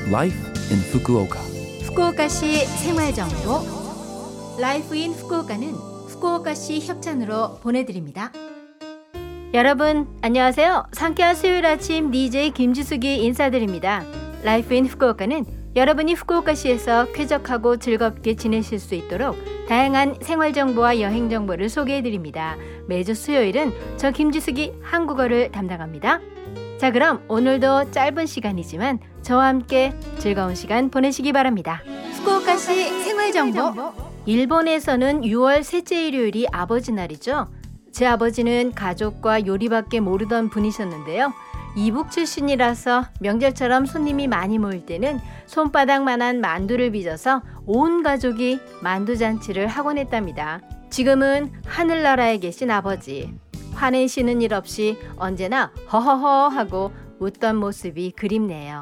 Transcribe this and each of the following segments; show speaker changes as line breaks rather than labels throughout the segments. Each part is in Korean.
Life in Fukuoka.
후쿠오카시 생활정보 라이프 인 후쿠오카는 후쿠오카시 협찬으로 보내드립니다. 여러분 안녕하세요. 상쾌한 수요일 아침 DJ 김지숙이 인사드립니다. 라이프 인 후쿠오카는 여러분이 후쿠오카시에서 쾌적하고 즐겁게 지내실 수 있도록 다양한 생활정보와 여행정보를 소개해드립니다. 매주 수요일은 저 김지숙이 한국어를 담당합니다. 자, 그럼 오늘도 짧은 시간이지만 저와 함께 즐거운 시간 보내시기 바랍니다. 후쿠오카시 생활정보. 일본에서는 6월 셋째 일요일이 아버지 날이죠. 제 아버지는 가족과 요리밖에 모르던 분이셨는데요. 이북 출신이라서 명절처럼 손님이 많이 모일 때는 손바닥만한 만두를 빚어서 온 가족이 만두잔치를 하곤 했답니다. 지금은 하늘나라에 계신 아버지. 화내시는 일 없이 언제나 허허허 하고 웃던 모습이 그립네요.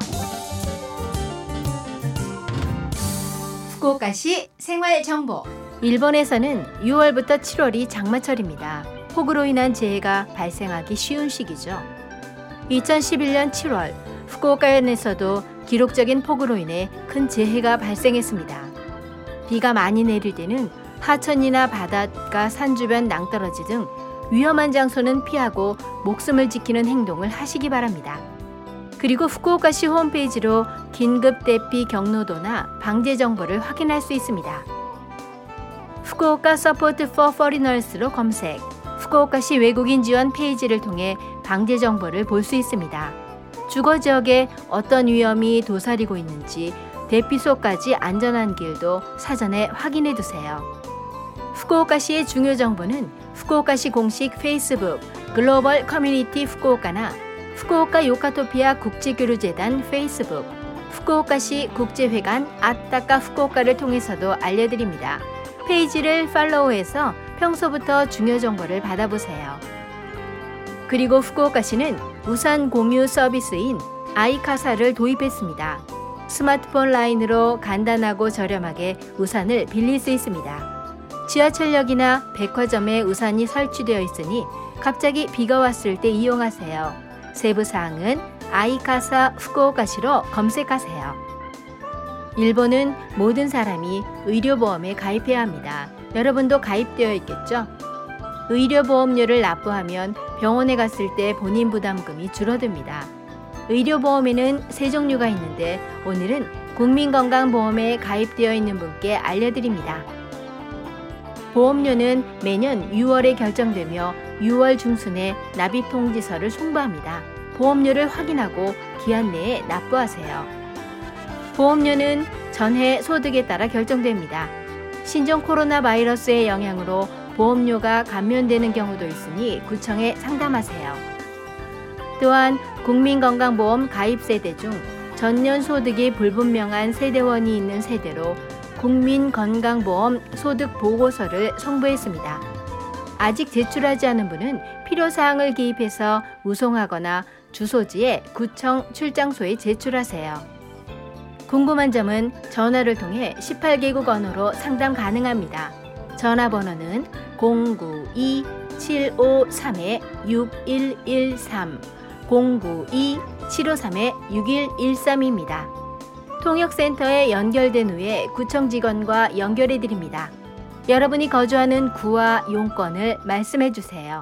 후쿠오카시 생활정보. 일본에서는 6월부터 7월이 장마철입니다. 폭우로 인한 재해가 발생하기 쉬운 시기죠. 2011년 7월 후쿠오카현에서도 기록적인 폭우로 인해 큰 재해가 발생했습니다. 비가 많이 내릴 때는 하천이나 바닷가, 산 주변 낭떠러지 등 위험한 장소는 피하고 목숨을 지키는 행동을 하시기 바랍니다. 그리고 후쿠오카시 홈페이지로 긴급 대피 경로도나 방제 정보를 확인할 수 있습니다. 후쿠오카 서포트 for foreigners로 검색, 후쿠오카시 외국인 지원 페이지를 통해 방제 정보를 볼 수 있습니다. 주거 지역에 어떤 위험이 도사리고 있는지 대피소까지 안전한 길도 사전에 확인해 두세요. 후쿠오카시의 중요 정보는 후쿠오카시 공식 페이스북 글로벌 커뮤니티 후쿠오카나 후쿠오카 요카토피아 국제교류재단 페이스북, 후쿠오카시 국제회관 아따까 후쿠오카를 통해서도 알려드립니다. 페이지를 팔로우해서 평소부터 중요 정보를 받아보세요. 그리고 후쿠오카시는 우산 공유 서비스인 아이카사를 도입했습니다. 스마트폰 라인으로 간단하고 저렴하게 우산을 빌릴 수 있습니다. 지하철역이나 백화점에 우산이 설치되어 있으니 갑자기 비가 왔을 때 이용하세요. 세부 사항은 아이카사 후쿠오카시로 검색하세요. 일본은 모든 사람이 의료보험에 가입해야 합니다. 여러분도 가입되어 있겠죠? 의료보험료를 납부하면 병원에 갔을 때 본인 부담금이 줄어듭니다. 의료보험에는 세 종류가 있는데 오늘은 국민건강보험에 가입되어 있는 분께 알려드립니다. 보험료는 매년 6월에 결정되며 6월 중순에 납입통지서를 송부합니다. 보험료를 확인하고 기한 내에 납부하세요. 보험료는 전해 소득에 따라 결정됩니다. 신종 코로나 바이러스의 영향으로 보험료가 감면되는 경우도 있으니 구청에 상담하세요. 또한 국민건강보험 가입 세대 중 전년 소득이 불분명한 세대원이 있는 세대로 국민건강보험 소득보고서를 송부했습니다. 아직 제출하지 않은 분은 필요사항을 기입해서 우송하거나 주소지에 구청 출장소에 제출하세요. 궁금한 점은 전화를 통해 18개국 언어로 상담 가능합니다. 전화번호는 092-753-6113, 092-753-6113입니다. 통역센터에 연결된 후에 구청 직원과 연결해 드립니다. 여러분이 거주하는 구와 용건을 말씀해 주세요.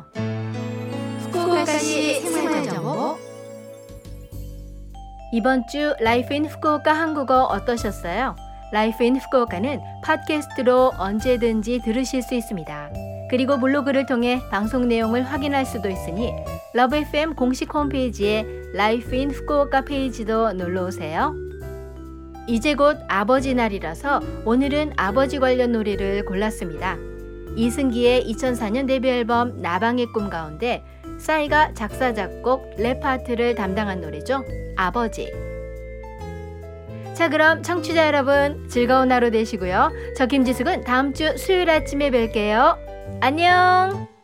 후쿠오카시 생활정보. 이번 주 라이프 인 후쿠오카 한국어 어떠셨어요? 라이프 인 후쿠오카는 팟캐스트로 언제든지 들으실 수 있습니다. 그리고 블로그를 통해 방송 내용을 확인할 수도 있으니 러브 FM 공식 홈페이지에 라이프 인 후쿠오카 페이지도 놀러오세요. 이제 곧 아버지 날이라서 오늘은 아버지 관련 노래를 골랐습니다. 이승기의 2004년 데뷔 앨범 나방의 꿈 가운데 싸이가 작사, 작곡, 랩 파트를 담당한 노래죠. 아버지. 자, 그럼 청취자 여러분 즐거운 하루 되시고요. 저 김지숙은 다음 주 수요일 아침에 뵐게요. 안녕.